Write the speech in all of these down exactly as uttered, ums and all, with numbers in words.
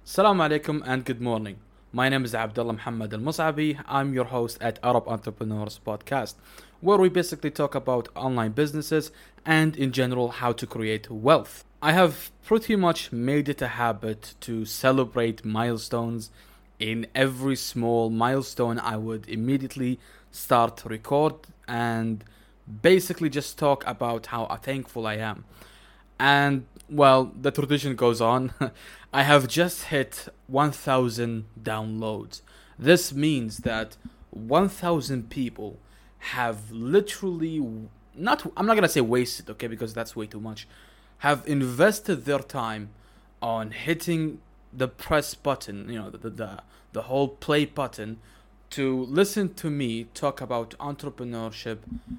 Assalamu alaikum and good morning. My name is Abdullah Muhammad Al Mus'abi. I'm your host at Arab Entrepreneurs Podcast, where we basically talk about online businesses and in general how to create wealth. I have pretty much made it a habit to celebrate milestones. In every small milestone, I would immediately start to record and basically just talk about how thankful I am. And well, the tradition goes on. I have just hit one thousand downloads. This means that one thousand people have literally not, I'm not going to say wasted, okay, because that's way too much, have invested their time on hitting the press button, you know, the, the, the whole play button to listen to me talk about entrepreneurship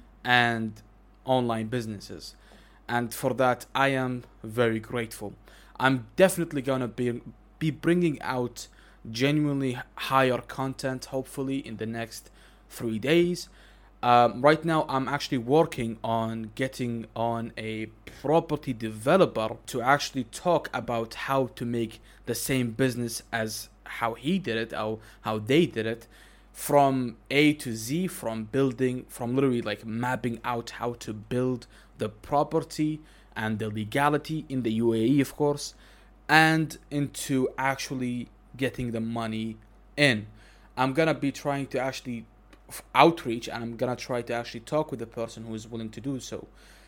and online businesses. And for that, I am very grateful. I'm definitely gonna be be bringing out genuinely higher content, hopefully in the next three days. Um, right now, I'm actually working on getting on a property developer to actually talk about how to make the same business as how he did it, how how they did it, from A to Z, from building, from literally like mapping out how to build the property and the legality in the U A E, of course, and into actually getting the money in. I'm gonna be trying to actually outreach, and I'm gonna try to actually talk with the person who is willing to do so.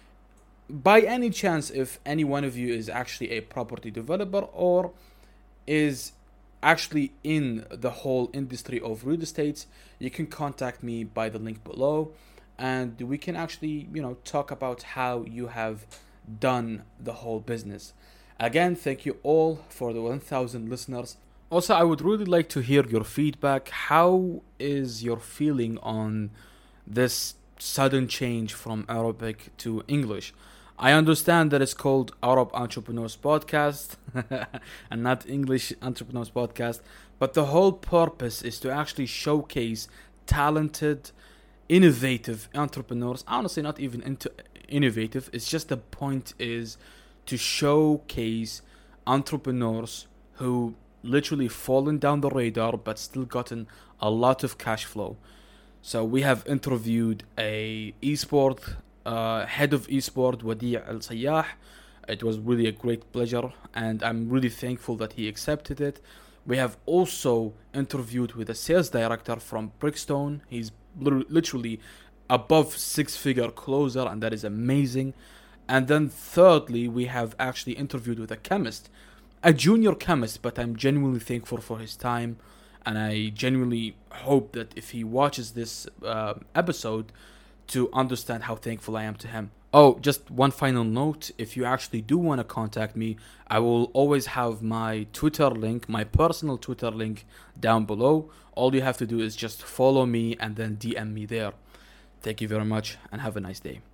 By any chance, if any one of you is actually a property developer or is actually in the whole industry of real estate, you can contact me by the link below, and we can actually, you know, talk about how you have done the whole business. Again, thank you all for the one thousand listeners. Also, I would really like to hear your feedback. How is your feeling on this sudden change from Arabic to English? I understand that it's called Arab Entrepreneurs Podcast and not English Entrepreneurs Podcast, but the whole purpose is to actually showcase talented, innovative entrepreneurs. Honestly, not even into innovative. It's just the point is to showcase entrepreneurs who literally fallen down the radar but still gotten a lot of cash flow. So we have interviewed a esport uh, head of esport, Wadi Al Sayyah. It was really a great pleasure, and I'm really thankful that he accepted it. We have also interviewed with a sales director from Brickstone. He's literally above six-figure closer, and that is amazing. And then thirdly, we have actually interviewed with a chemist, a junior chemist, but I'm genuinely thankful for his time, and I genuinely hope that if he watches this uh, episode, to understand how thankful I am to him. Oh, just one final note. If you actually do want to contact me, I will always have my Twitter link, my personal Twitter link down below. All you have to do is just follow me and then D M me there. Thank you very much and have a nice day.